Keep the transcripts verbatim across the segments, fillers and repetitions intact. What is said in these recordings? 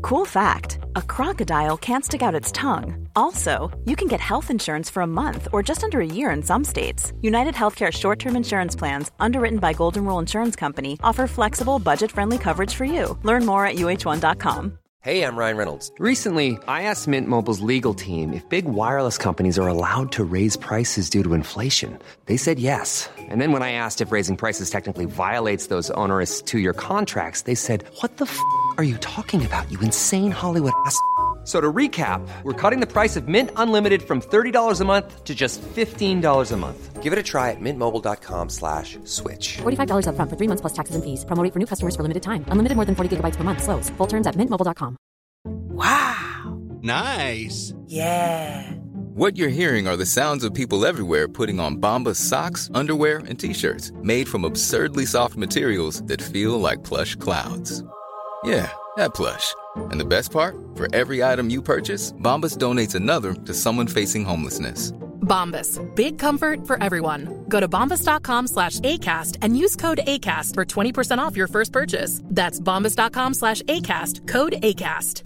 Cool fact, a crocodile can't stick out its tongue. Also, you can get health insurance for a month or just under a year in some states. United Healthcare short-term insurance plans, underwritten by Golden Rule Insurance Company, offer flexible, budget-friendly coverage for you. Learn more at U H one dot com. Hey, I'm Ryan Reynolds. Recently, I asked Mint Mobile's legal team if big wireless companies are allowed to raise prices due to inflation. They said yes. And then when I asked if raising prices technically violates those onerous two-year contracts, they said, what the f*** are you talking about, you insane Hollywood ass f- So to recap, we're cutting the price of Mint Unlimited from thirty dollars a month to just fifteen dollars a month. Give it a try at mintmobile.com slash switch. forty-five dollars up front for three months plus taxes and fees. Promo rate for new customers for limited time. Unlimited more than forty gigabytes per month. Slows full terms at mint mobile dot com. Wow. Nice. Yeah. What you're hearing are the sounds of people everywhere putting on Bombas socks, underwear, and T-shirts made from absurdly soft materials that feel like plush clouds. Yeah, that plush. And the best part? For every item you purchase, Bombas donates another to someone facing homelessness. Bombas. Big comfort for everyone. Go to bombas.com slash ACAST and use code ACAST for twenty percent off your first purchase. That's bombas.com slash ACAST. Code ACAST.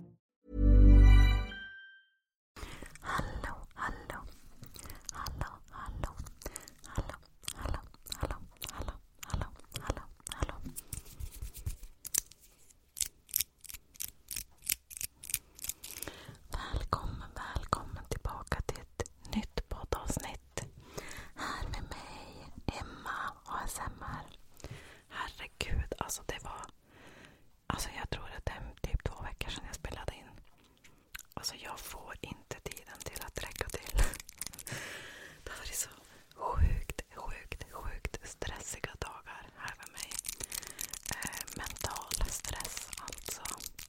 Hallå, hallå, hallå, hallå, hallå, hallå, hallå, hallå, hallå, hallå, hallå. Välkommen, välkommen tillbaka till ett nytt poddavsnitt. Här med mig, Emma A S M R. Herregud, alltså det var... Alltså jag tror att det är typ två veckor sedan jag spelade in. Alltså jag får inte tiden till att räcka till. Det har varit så sjukt, sjukt, sjukt stressiga dagar här med mig. Eh, mental stress alltså.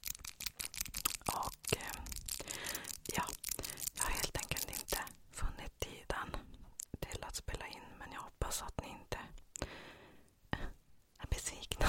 Och eh, ja, jag har helt enkelt inte funnit tiden till att spela in. Men jag hoppas att ni inte är besvikna.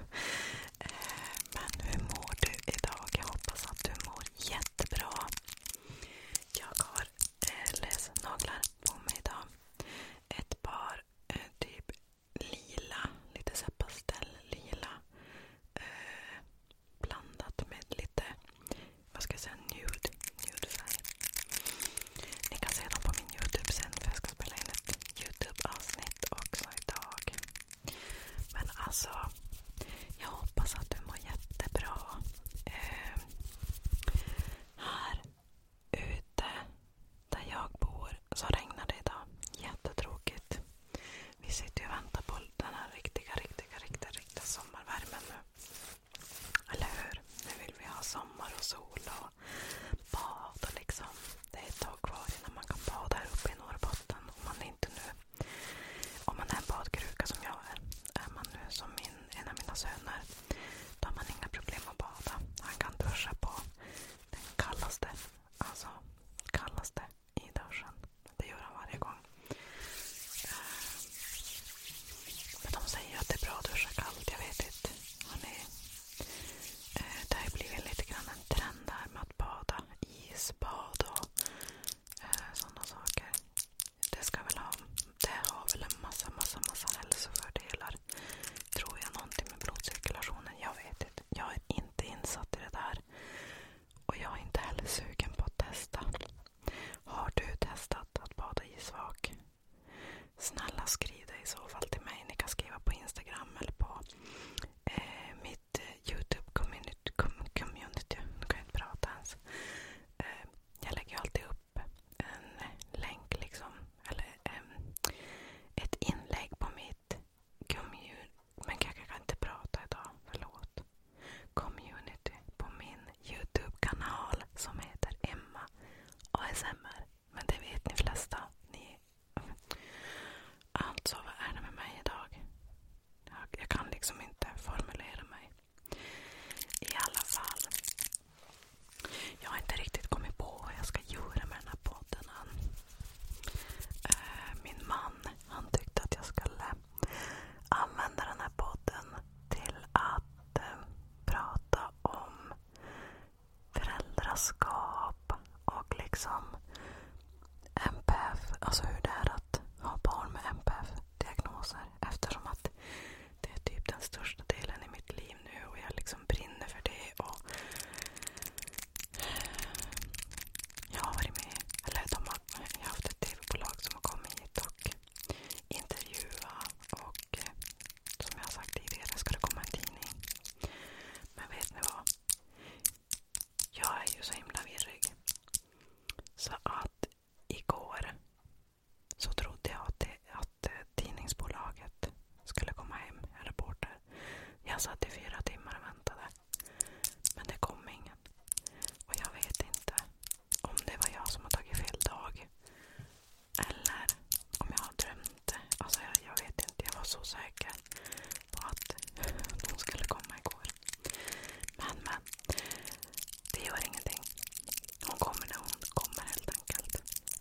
Men hur mår du idag? Jag hoppas att du mår jättebra. Jag har eh, läsnaglar på mig idag. Ett par eh, typ lila, lite så här pastelllila. Eh, blandat med lite, vad ska jag säga, nude, nudefärg. Ni kan se dem på min YouTube sen, för jag ska spela in ett YouTube-avsnitt också idag. Men alltså, jag hoppas att du mår jättebra. Eh, här ute där jag bor så regnar det idag. Jättetråkigt. Vi sitter ju och väntar på den här riktiga, riktiga, riktiga, riktiga sommarvärmen nu. Eller hur? Nu vill vi ha sommar och sol och bad och liksom. Det är ett tag kvar innan man kan bada här uppe i Norrbotten. Om man inte nu, om man är en badkruka som jag är. Är man nu som min, en av mina söner, då har man inga problem att bada. Han kan duscha på den kallaste, alltså kallaste i duschen. Det gör han varje gång. Men de säger att det är bra att duscha kallt, jag vet inte. Hörrni, det har ju blivit lite grann en trend här med att bada, isbad och sådana saker. Det ska väl ha, det har väl en massa, massa, massa hälsofördelar. Tror jag någonting med blodcirkulationen? Jag vet inte. Jag är inte insatt i det där. Och jag är inte heller sugen på att testa. Har du testat att bada isvak? Snälla skriv det i så fall till mig. Ni kan skriva på Instagram eller på eh, mitt YouTube community. Com- community. Nu kan jag inte prata ens. Eh, jag lägger ju alltid upp en länk liksom. Eller eh, ett inlägg på mitt community. Men jag kan inte prata idag. Förlåt. Community på min YouTube-kanal som heter Emma A S M R. Men det vet ni flesta. Ni... Alltså, vad är det med mig idag? Jag, jag kan liksom inte formulera mig. I alla fall. Jag har inte riktigt kommit på vad jag ska göra med den här podden än. Eh, min man, han tyckte att jag skulle använda den här podden till att eh, prata om föräldraskap och liksom M P F, alltså hur det är att ha barn med M P F-diagnoser, eftersom att det är typ den största delen i mitt liv nu och jag liksom brinner för det och gör ingenting. Hon kommer när hon kommer helt enkelt.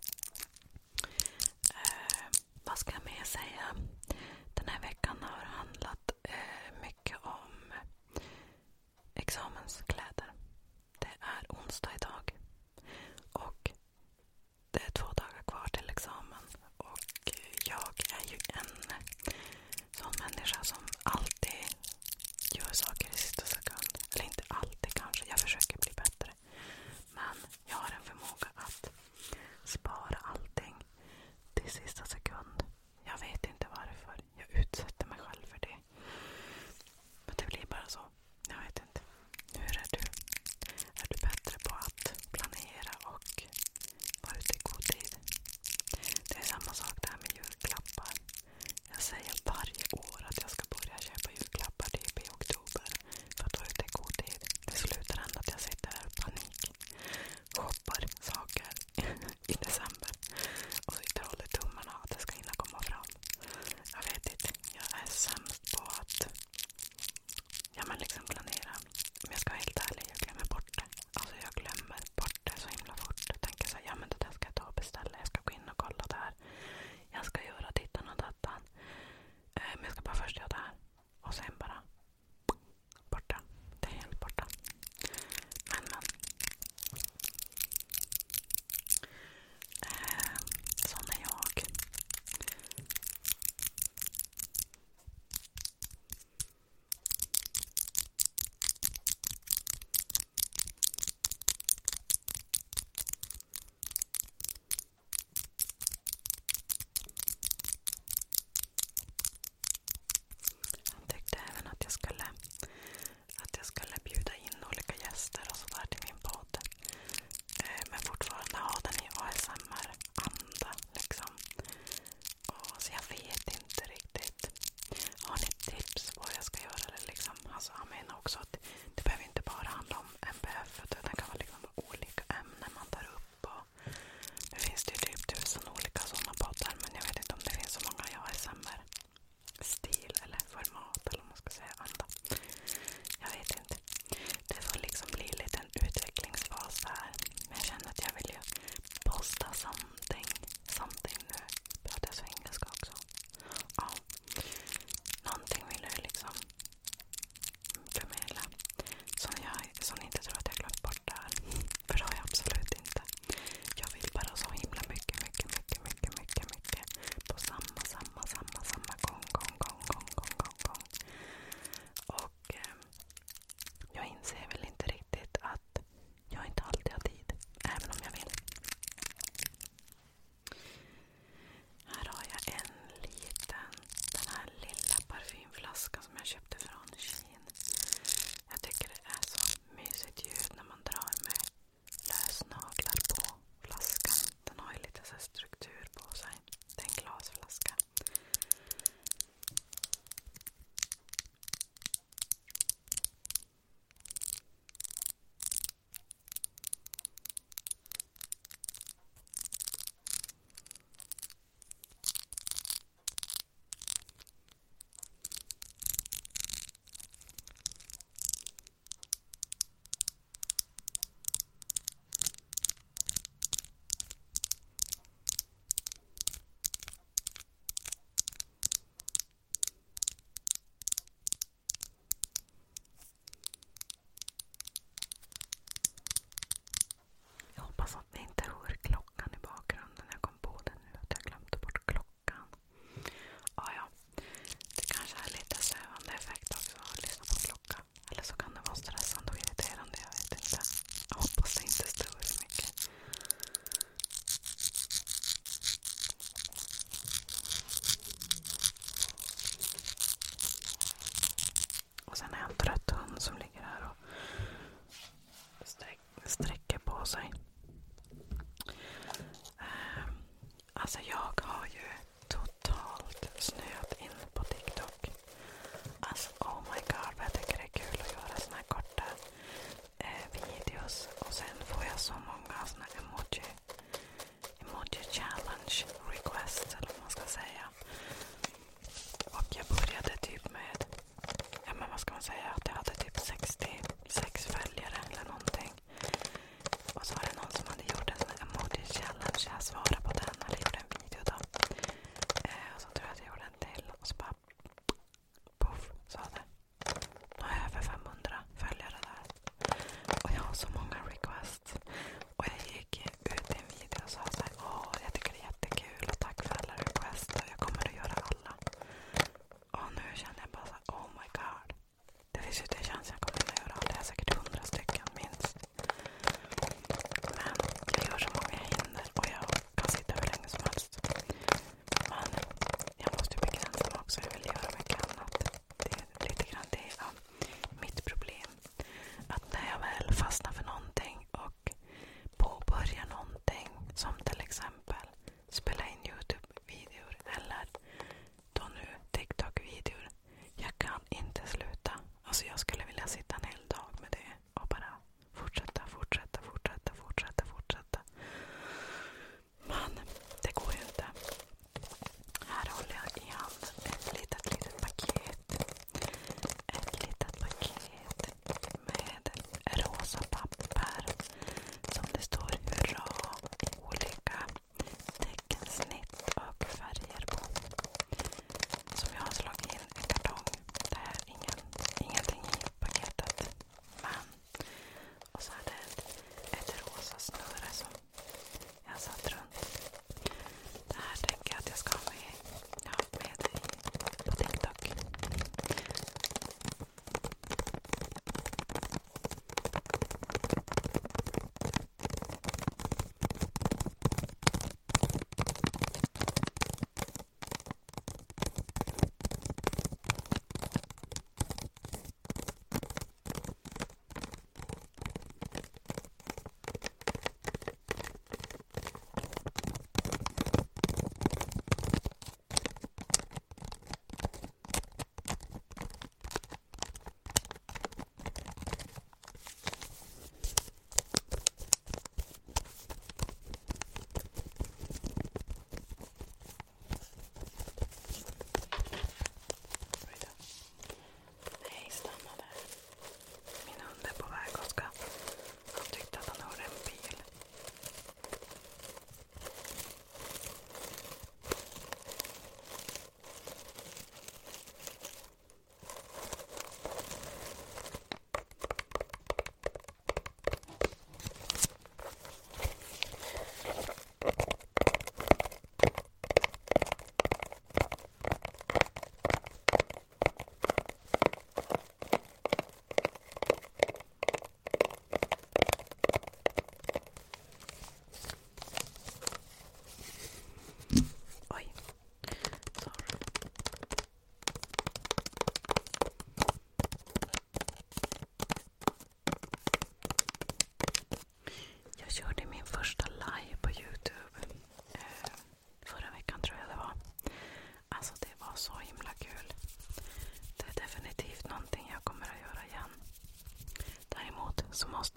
Eh, vad ska jag mer säga? Den här veckan har handlat eh, mycket om examenskläder. Det är onsdag idag. Och det är två dagar kvar till examen. Och jag är ju en sån människa som alltid gör saker i sista sekund. Eller inte alltid kanske. Jag försöker bli bättre.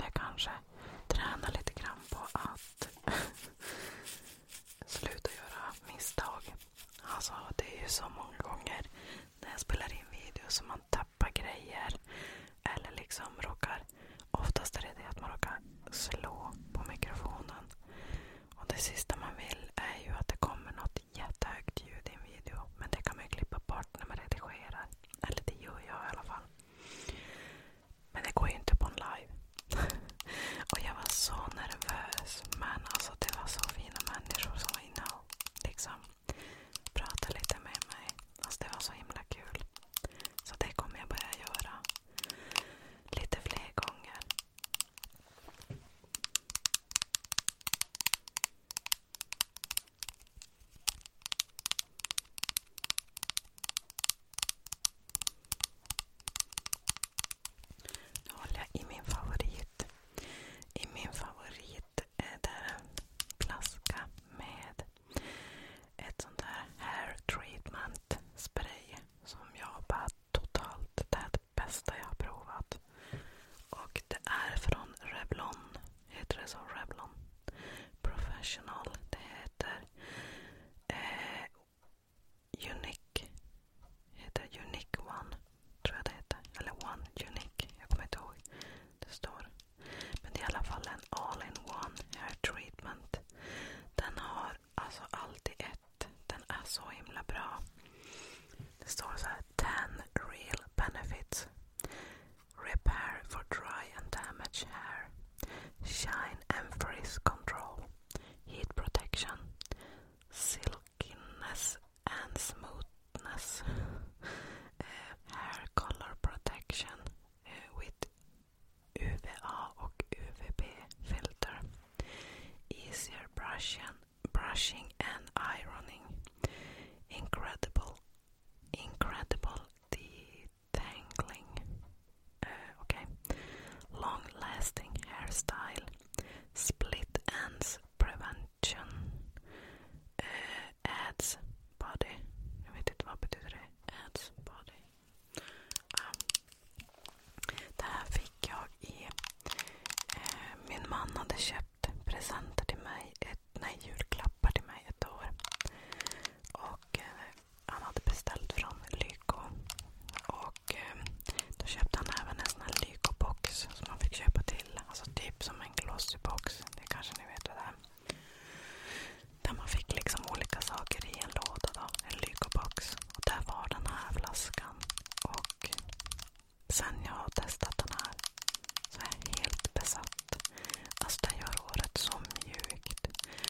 borde kanske träna lite grann på att sluta göra misstag. Alltså det är ju så många gånger när jag spelar in videos som man tappar grejer eller liksom råkar, oftast är det det att man råkar slå på mikrofonen. Och det sista man vill är ju att det kommer något jättehögt ljud i en video. Men det kan man ju klippa bort när man redigerar. Eller det gör jag i alla fall. Men det går ju inte på en live. Och jag var så nervös. Men alltså det var så fina människor som var inne och liksom pratade lite med mig. Alltså det var så himla kul. Så det kommer jag börja göra lite fler gånger. Nu håller jag i min favorit. I min favorit är det en flaska med ett sånt där hair treatment spray som jag bara totalt, det är det bästa jag har provat. Och det är från Revlon. Heter det så? Revlon Professional. Det heter eh, Unique. Heter Unique One. Tror jag det heter. Eller One Unique. Jag kommer inte ihåg. Det står. Men det är i alla fall en all-in-one hair treatment. Den har alltså alltid ett. Den är så himla bra. Det står så här: ten real benefits. Repair for dry and damaged hair. Shine and frizz control. Heat protection. Silkiness and smoothness. Uh, hair color protection uh, with U V A och U V B filter. Easier brushing, brushing and ironing. Incredible, incredible detangling. Uh, okay. Long-lasting hairstyle. Split ends prevention. Uh, adds body. Jag vet inte vad betyder det. Adds body. Um, det här fick jag i... Eh, min man hade köpt presenter till mig. Ett, nej, julklappar till mig ett år. Och eh, han hade beställt från Lyko. Och eh, då köpte han även en sån här Lyko-box som man fick köpa till. Alltså typ som en glossy-box. Det kanske ni vet vad det är. Där man fick liksom olika saker i en låda då. En Lyko-box. Och där var den här flaskan. Och sen jag har testat den här så är jag helt besatt. Alltså den gör håret så mjukt.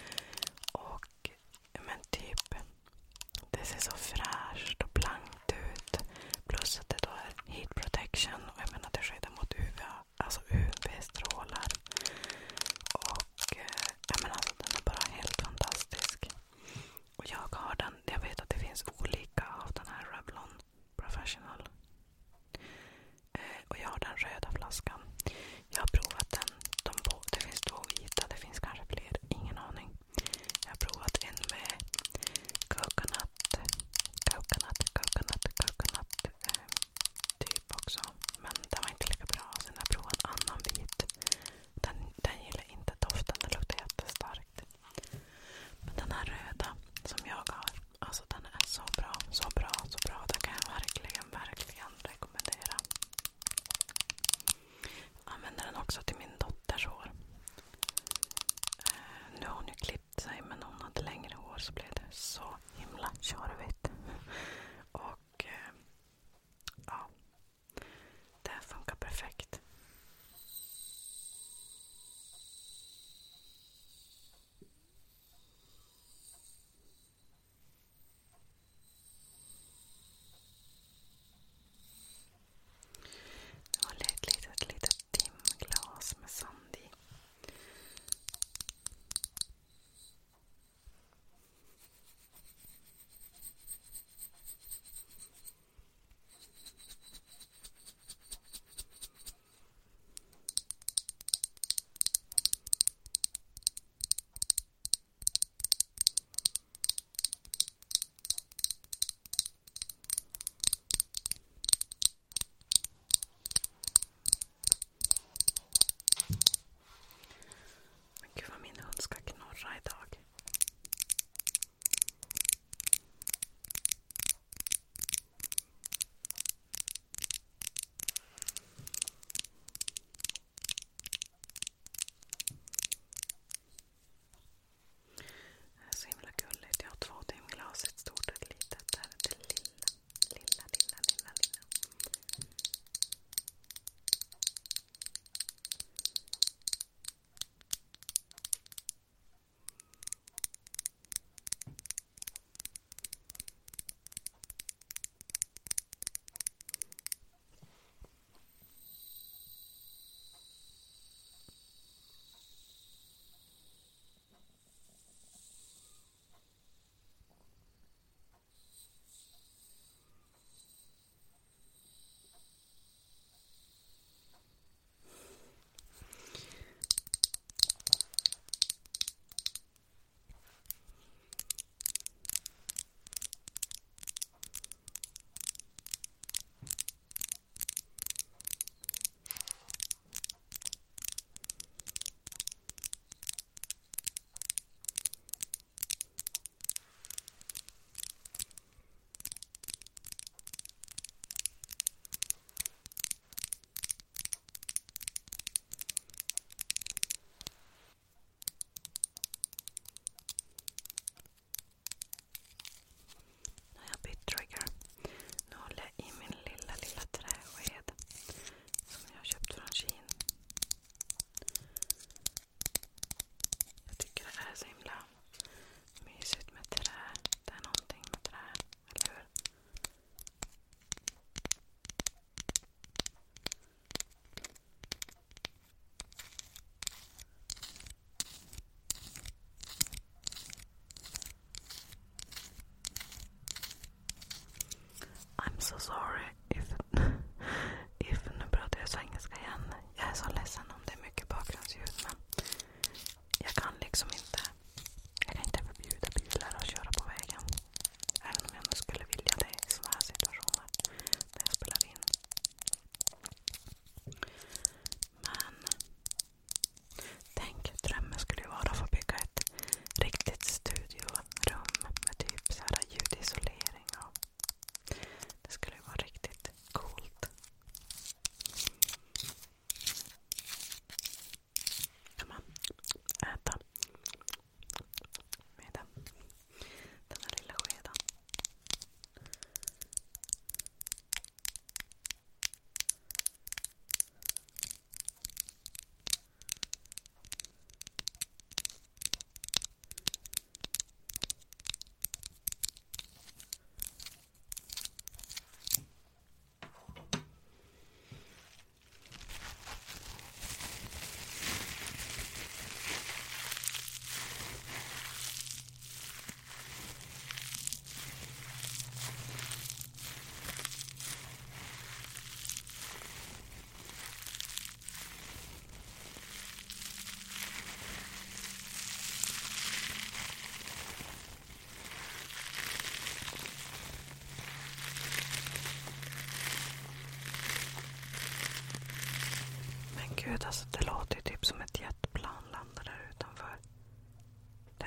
Och men typ det ser så fräscht och blankt ut. Plus att det då är heat protection. Och jag menar det skyddar mot U V A. Alltså U V-strålar. Och eh, jag menar alltså den är bara helt fantastisk. Och jag har den. Jag vet att det finns olika av den här Revlon Professional.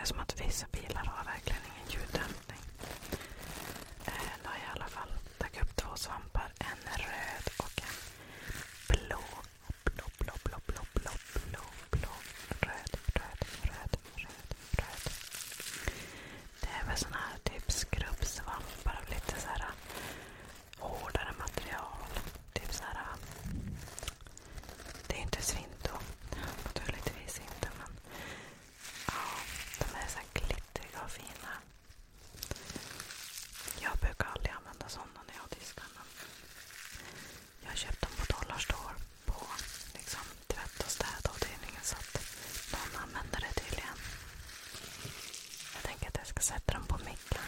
är som att vissa bilar har verkligen ingen ljuddämpning. Eh, då har jag i alla fall tagit upp två svampar. En röd och en blå. Blå, blå, blå, blå, blå, blå, blå. Röd, röd, röd, röd, röd. Det är väl sån här typ skrubbsvampar av lite så här hårdare material. Typ så här. Det är inte svinto. Naturligtvis inte, men ja, de är så här glittriga och fina. Jag brukar aldrig använda sådana när jag diskar, men jag har köpt dem på Dollarstore på liksom tvätt- och städavdelningen, så att någon använder det tydligen. Jag tänker att jag ska sätta dem på micken.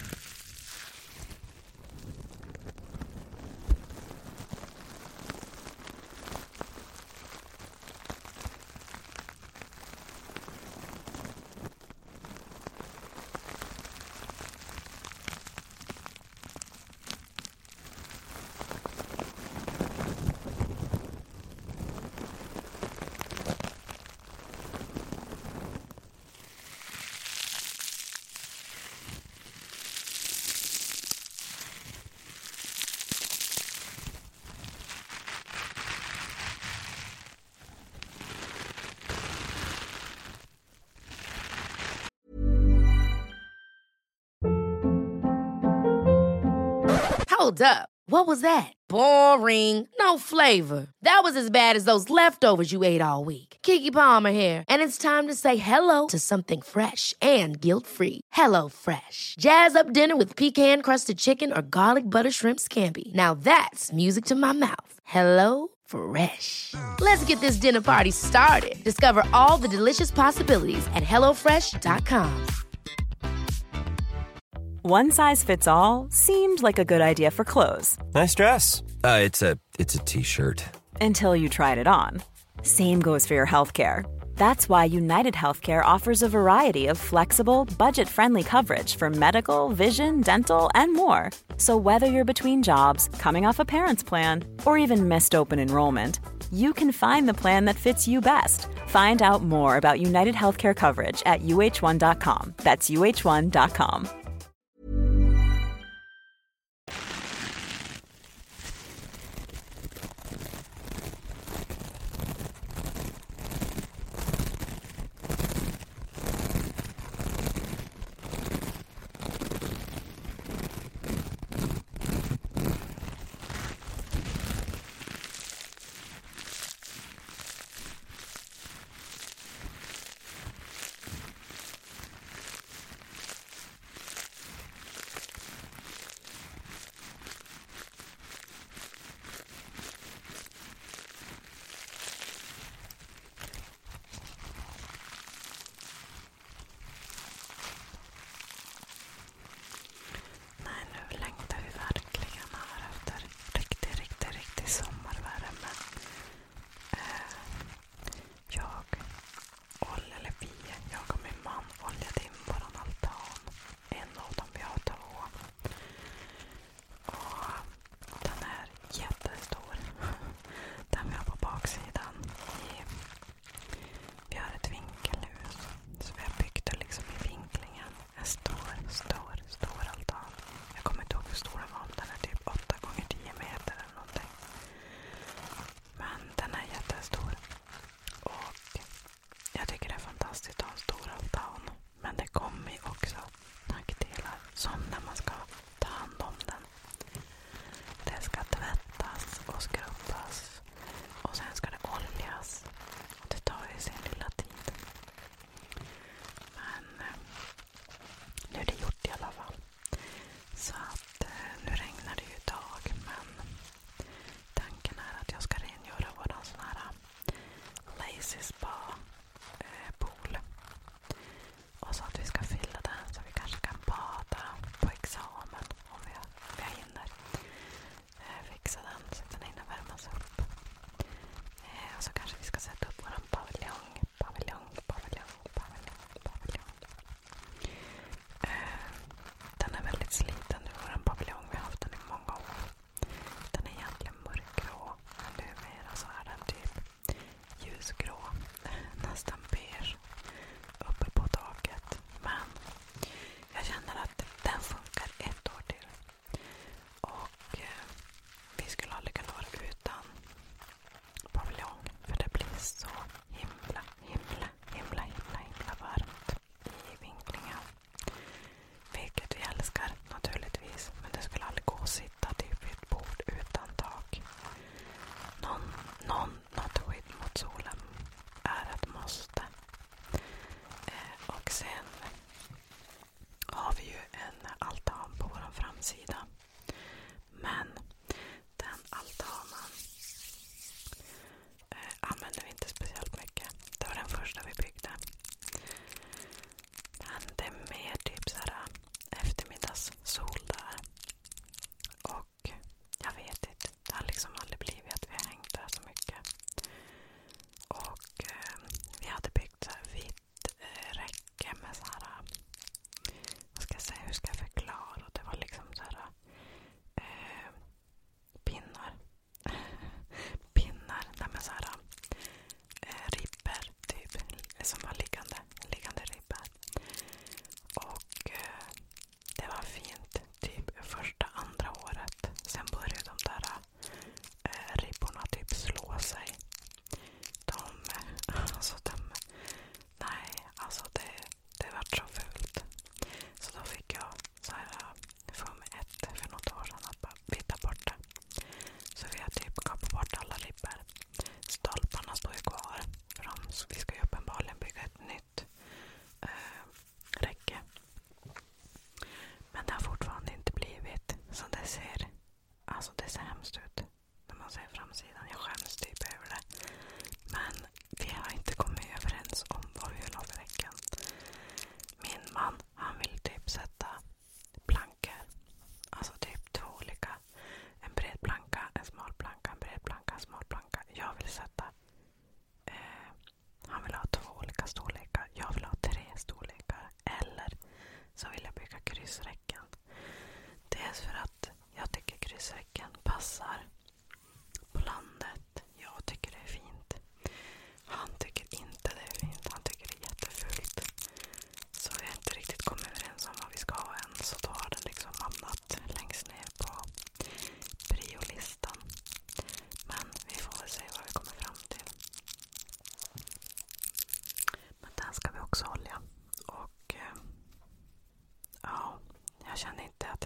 Hold up. What was that? Boring. No flavor. That was as bad as those leftovers you ate all week. Keke Palmer here, and it's time to say hello to something fresh and guilt-free. Hello Fresh. Jazz up dinner with pecan-crusted chicken or garlic butter shrimp scampi. Now that's music to my mouth. Hello Fresh. Let's get this dinner party started. Discover all the delicious possibilities at hello fresh dot com. One size fits all seemed like a good idea for clothes. Nice dress. Uh, it's a it's a t-shirt. Until you tried it on. Same goes for your healthcare. That's why United Healthcare offers a variety of flexible, budget-friendly coverage for medical, vision, dental, and more. So whether you're between jobs, coming off a parent's plan, or even missed open enrollment, you can find the plan that fits you best. Find out more about United Healthcare coverage at u h one dot com. That's u h one dot com. Spa-pool. Och så att vi ska fylla den så vi kanske kan bada på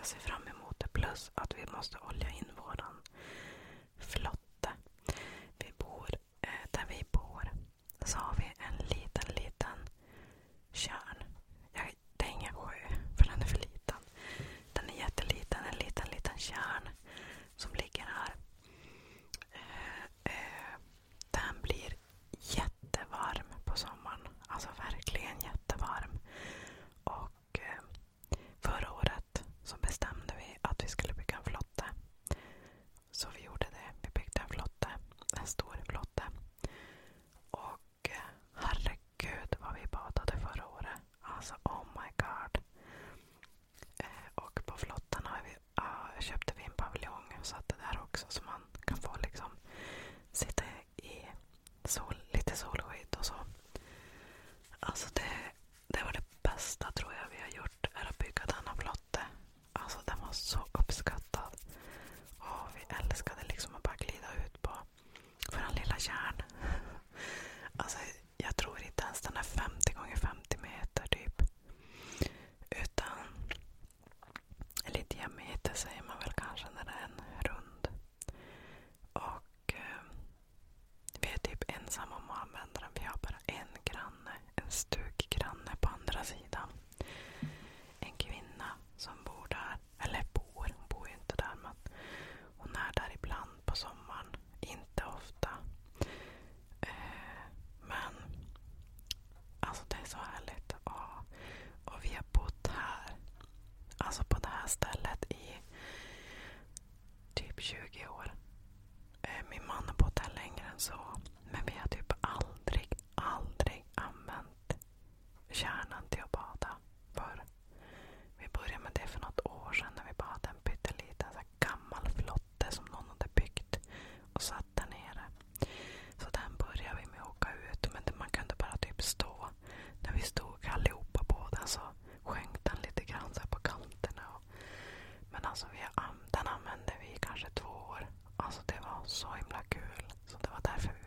ser fram emot det. Plus att vi måste olja in våran flotte. Vi bor, eh, där vi bor så har vi en liten, liten tjärn. Jag, det är ingen sjö, för den är för liten. Den är jätteliten, en liten, liten tjärn som ligger här. Eh, eh, den blir jättevarm på sommaren. Alltså verkligen jättevarm. Och eh, förra året så bestämde vi att vi skulle bygga en flotte. Så vi gjorde det. Vi byggde en flotte. En stor flotte. Och eh, herregud vad vi badade förra året. Alltså oh my god. Eh, och på flotten har vi, ah, köpte vi en paviljong och satte där också så man kan få liksom sitta i sol, lite solskydd och så. Alltså det, det var det bästa tror jag vi har gjort, är att bygga denna flotte. Alltså den var så uppskattad. Och vi älskade liksom att bara glida ut på för en lilla kärn. Alltså jag tror inte ens den är femtio gånger femtio meter typ. Utan eller diameter säger man väl kanske när det är en rund. Och eh, vi är typ ensamma om att använda den. Vi har bara en granne, en stuggranne på andra sidan. En kvinna som bor där. Eller bor, hon bor ju inte där men hon är där ibland på sommaren. Inte ofta. Eh, men alltså det är så härligt. Och, och vi har bott här. Alltså på det här stället i typ tjugo år. Eh, min man har bott här längre än så. Men vi har typ aldrig, aldrig använt kärnan till att bada för. Vi började med det för något år sedan när vi bara hade en pytteliten så här gammal flotte som någon hade byggt och satt där nere. Så den började vi med att åka ut, men man kunde bara typ stå. När vi stod allihopa på den så sjönk den lite grann så här på kanterna. Och, men alltså vi, den använde vi kanske två år. Alltså det var så himla kul. Så det var därför vi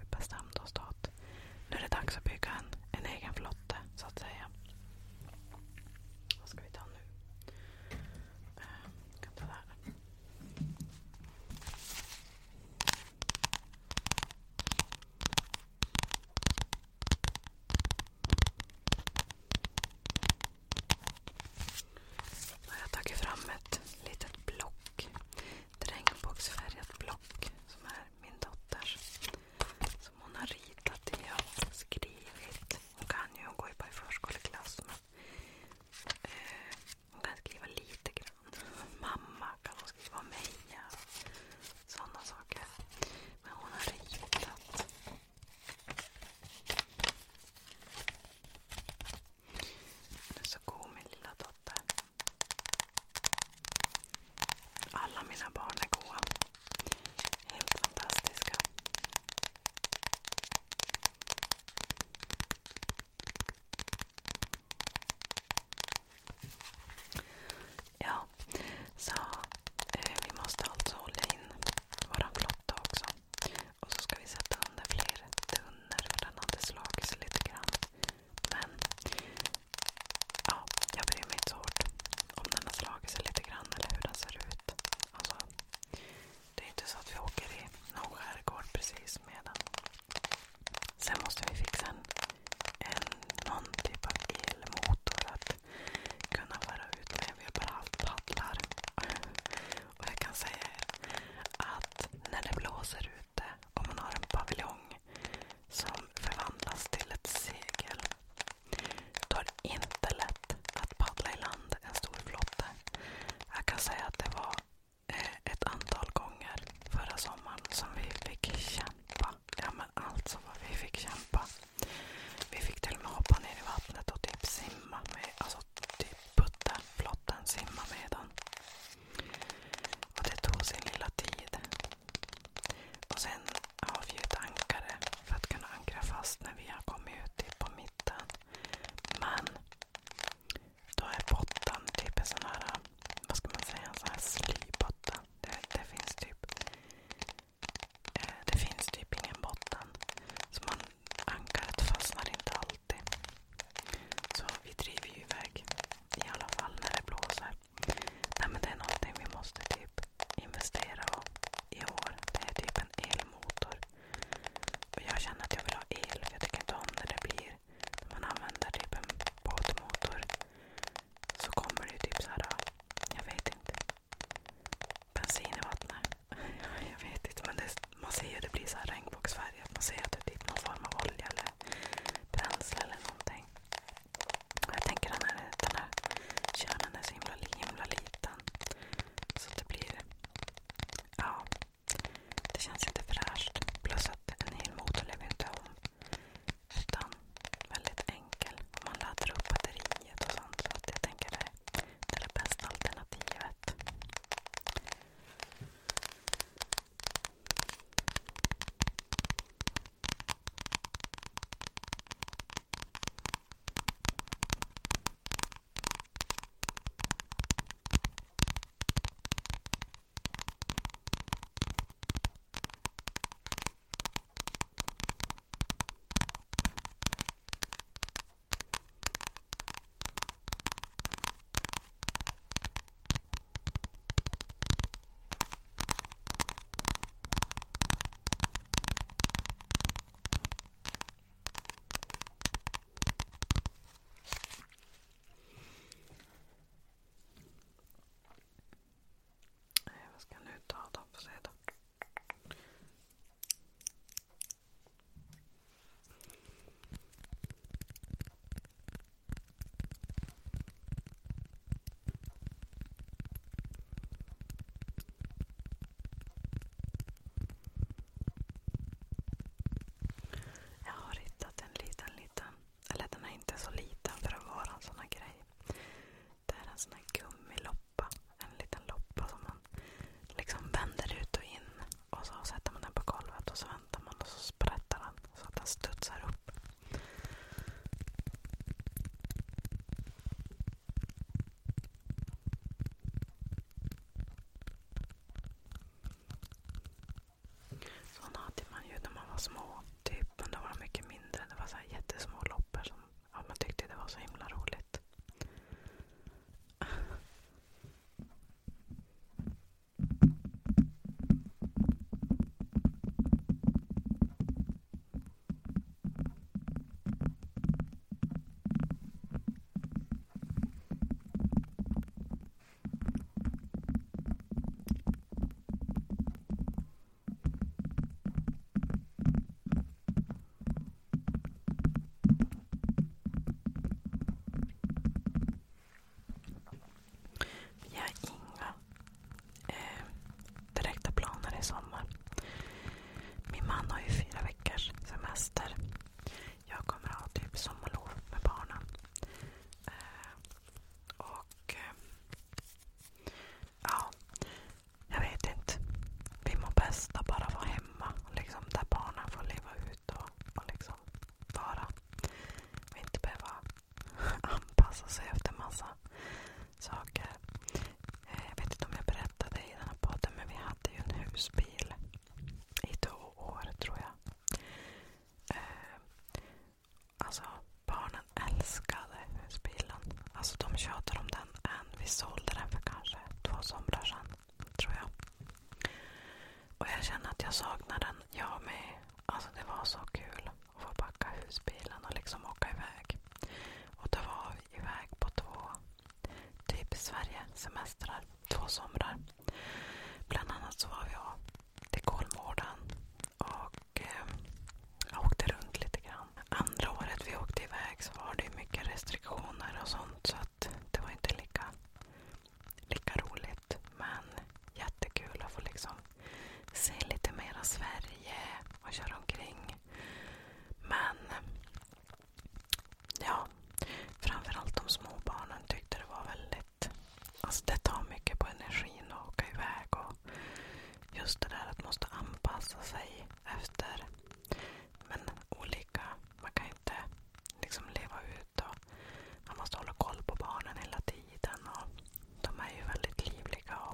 små typ, men då var de mycket mindre. Det var så här jättesmå loppor som ja, man tyckte det var så himla roligt. Jag saknar den, jag med. Alltså det var så kul att få backa husbilen och liksom åka iväg. Och då var vi iväg på två typ Sverige-semestrar, två somrar. Bland annat så var vi till Kolmården och eh, jag åkte runt lite grann. Andra året vi åkte iväg så var det mycket restriktioner och sånt, så att det var inte lika, lika roligt. Men jättekul att få liksom se lite mera Sverige och köra omkring. Men ja, framförallt de små barnen tyckte det var väldigt, alltså det tar mycket på energin att åka iväg, och just det där att måste anpassa sig efter, men olika, man kan inte liksom leva ut och man måste hålla koll på barnen hela tiden, och de är ju väldigt livliga och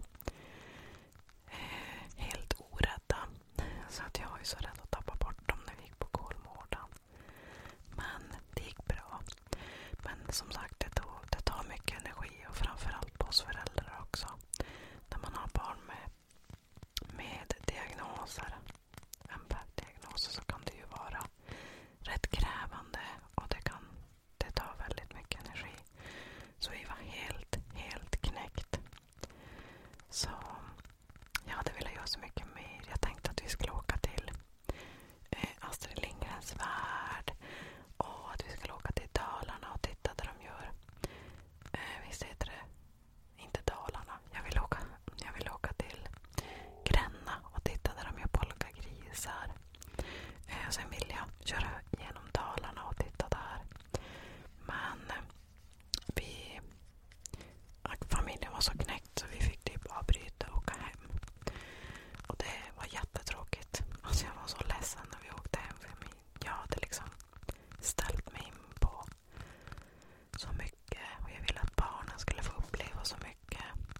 eh, helt orädda, så att jag var ju så rädd att tappa bort dem när vi gick på Kolmården. Men det gick bra. Men som sagt, det, tog, det tar mycket energi, och framförallt på oss föräldrar också. När man har barn med, med diagnoser, M P F-diagnoser, så kan det ju vara rätt krävande, och det kan det tar väldigt mycket energi. Så vi var helt, helt knäckt. Så jag hade velat göra så mycket mer. Jag tänkte att vi skulle åka till eh, Astrid Lindgrens värld, och att vi skulle åka till Dalarna och titta där de gör eh, visst heter det inte Dalarna. Jag vill åka, jag vill åka till Gränna och titta där de gör polkagrisar. Eh, sen vill jag köra genom Dalarna och titta där. Men eh, vi familjen var så knäckt så vi fick typ avbryta och åka hem. Och det var jättetråkigt. Alltså jag var så ledsen när vi åkte hem, för mig. Jag hade liksom ställt mig in på så mycket, och jag ville att barnen skulle få uppleva så mycket.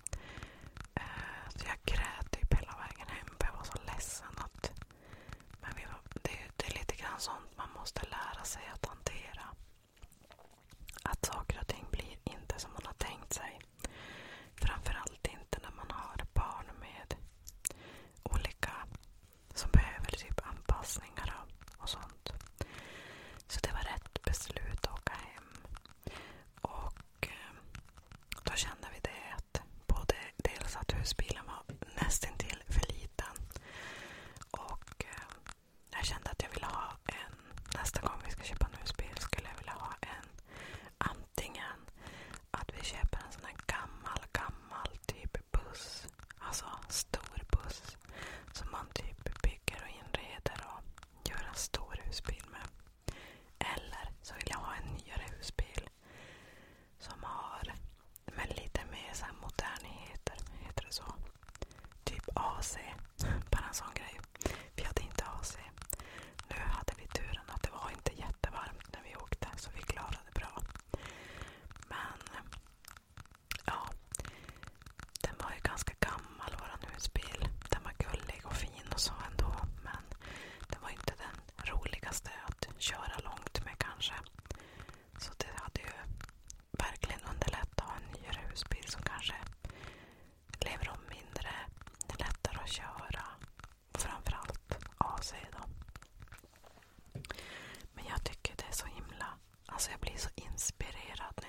Eh, så jag grät typ hela vägen hem, för jag var så ledsen att men vi var, det, det är lite grann sånt man måste lära sig att hantera. Att saker och ting blir inte som man har tänkt sig. Framförallt inte när man har barn med olika som behöver typ anpassningar och, och sånt. Så det var rätt beslut att åka hem. Och eh, då kände vi det att både dels att husbilen var nästintill för liten, och eh, jag kände att jag ville ha en, nästa gång vi ska köpa en husbil skulle jag vilja ha en, antingen att vi köper en sån här gammal, gammal typ buss, alltså stor buss som man typ bygger och inreder och gör en stor husbil med. Eller så vill jag ha en nyare husbil som har med lite mer så här moderniteter, heter det så? Typ A C, bara en sån grej. Vi hade inte A C. Nu hade vi turen att det var inte jättevarmt när vi åkte, så vi klarade bra. Men ja, den var ju ganska gammal, våran husbil. Den var gullig och fin och så ändå, men den var inte den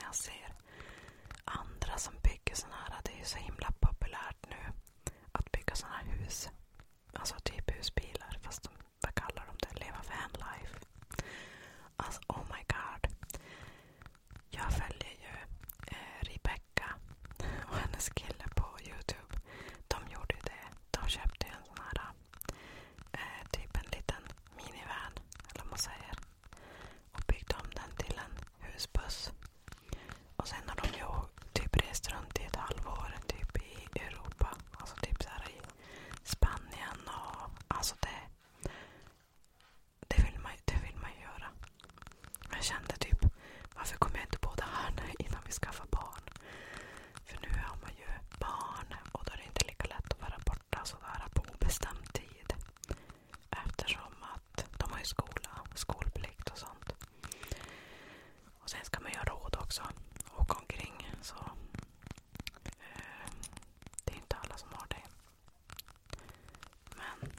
jag ser andra som bygger såna här, det är ju så himla populärt nu att bygga såna här hus. Alltså typ husbilar, fast de, vad kallar de det? Leva van life. Alltså, oh my god. Jag följer ju eh, Rebecca och hennes kille på YouTube. De gjorde ju det. De köpte ju en sån här eh, typ en liten minivan, eller vad man säger. Och byggde om den till en husbuss. Och sen har de ju typ rest runt i ett halvår typ i Europa. Alltså typ så här i Spanien och alltså det det vill man, det vill man göra. Jag kände typ, varför kommer jag inte på det här innan vi skaffar barn? För nu har man ju barn och då är det inte lika lätt att vara borta sådär på obestämd tid. Eftersom att de har ju skola, skolplikt och sånt. Och sen ska man ju ha råd också. Åka omkring. Så eh, det är inte alla som har det. Men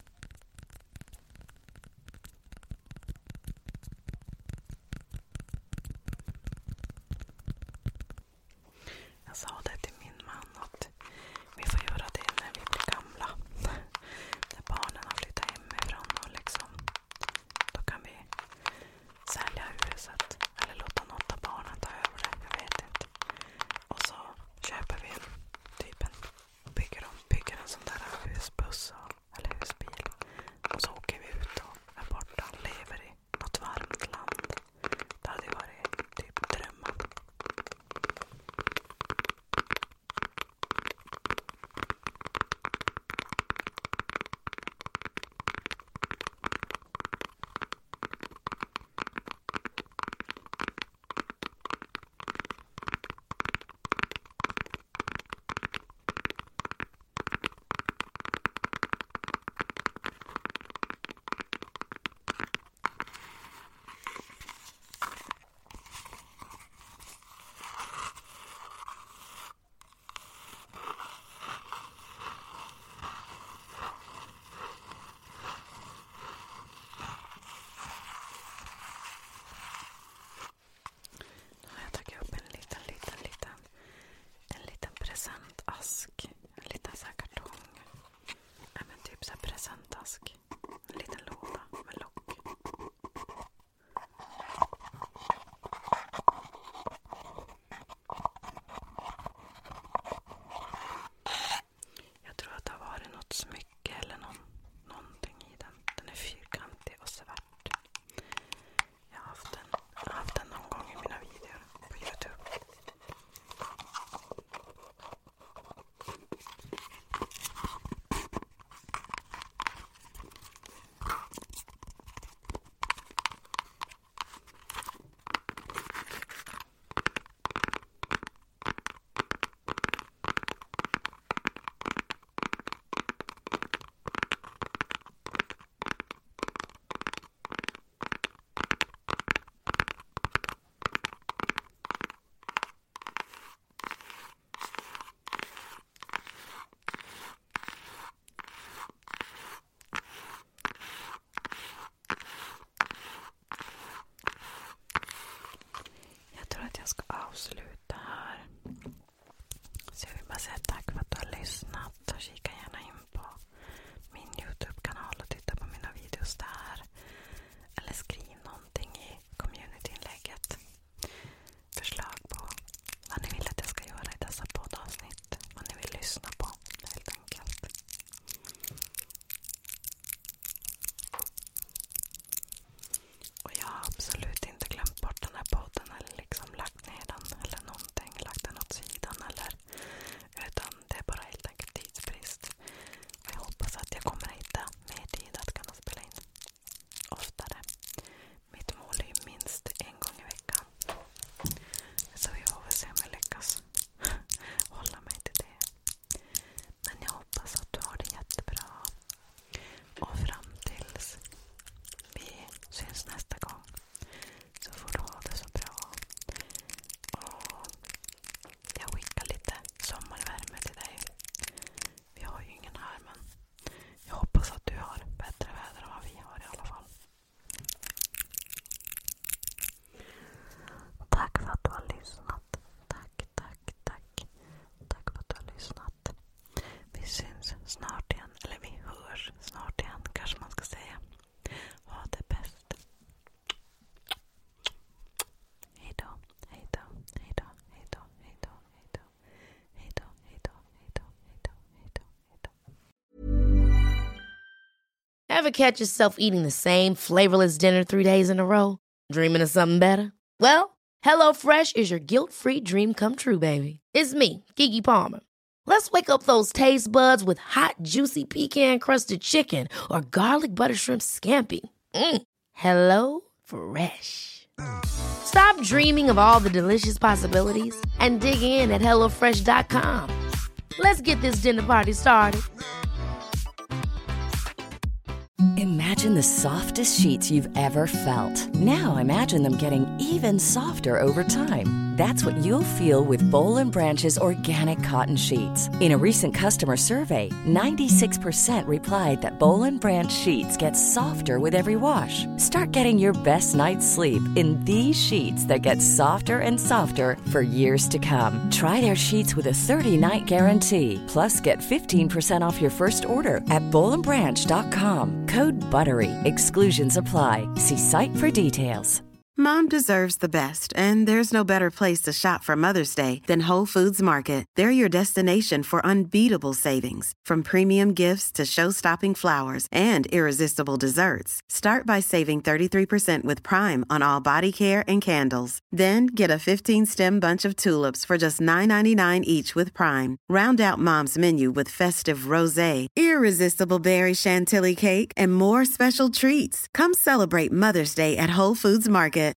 jag sa det till min man att vi får göra det när vi blir gamla. När barnen har flyttat hemifrån och liksom då kan vi sälja huset eller låta något av barnen ta över det. Jag vet inte. Och så köper vi en typ en bygger, om, bygger en sån där husbuss eller husbil. Och så åker vi ut och är borta och lever i något varmt land. Det hade varit typ drömmen. Jag tagit upp en liten, liten, liten en liten presentask. En liten så här kartong. Ja, men typ så här presentask. En liten låda med lock. Jag tror att det har varit något smycke eller någon, någonting i den. Den är fyrkantig och svart. Jag har haft den, jag har haft den någon gång i mina videor på YouTube. Jag tror att jag ska avsluta här. Så jag vill bara säga tack för att du har lyssnat. Kika gärna in på min YouTube-kanal och titta på mina videos där. Eller skriv någonting i community-inlägget. Förslag på vad ni vill att jag ska göra i dessa poddavsnitt. Vad ni vill lyssna på, helt enkelt. Och jag har absolut inte glömt bort den här podden eller liksom lagt ner den eller någonting, lagt den åt sidan eller utan det är bara helt enkelt tidsbrist. Ever catch yourself eating the same flavorless dinner three days in a row? Dreaming of something better? Well, HelloFresh is your guilt-free dream come true, baby. It's me, Keke Palmer. Let's wake up those taste buds with hot, juicy pecan-crusted chicken or garlic butter shrimp scampi. Mm. Hello Fresh. Stop dreaming of all the delicious possibilities and dig in at hello fresh dot com. Let's get this dinner party started. Imagine the softest sheets you've ever felt. Now imagine them getting even softer over time. That's what you'll feel with Boll and Branch's organic cotton sheets. In a recent customer survey, ninety-six percent replied that Boll and Branch sheets get softer with every wash. Start getting your best night's sleep in these sheets that get softer and softer for years to come. Try their sheets with a thirty-night guarantee. Plus, get fifteen percent off your first order at boll and branch dot com. Code BUTTERY. Exclusions apply. See site for details. Mom deserves the best, and there's no better place to shop for Mother's Day than Whole Foods Market. They're your destination for unbeatable savings, from premium gifts to show-stopping flowers and irresistible desserts. Start by saving thirty-three percent with Prime on all body care and candles. Then get a fifteen-stem bunch of tulips for just nine ninety-nine each with Prime. Round out Mom's menu with festive rosé, irresistible berry chantilly cake, and more special treats. Come celebrate Mother's Day at Whole Foods Market.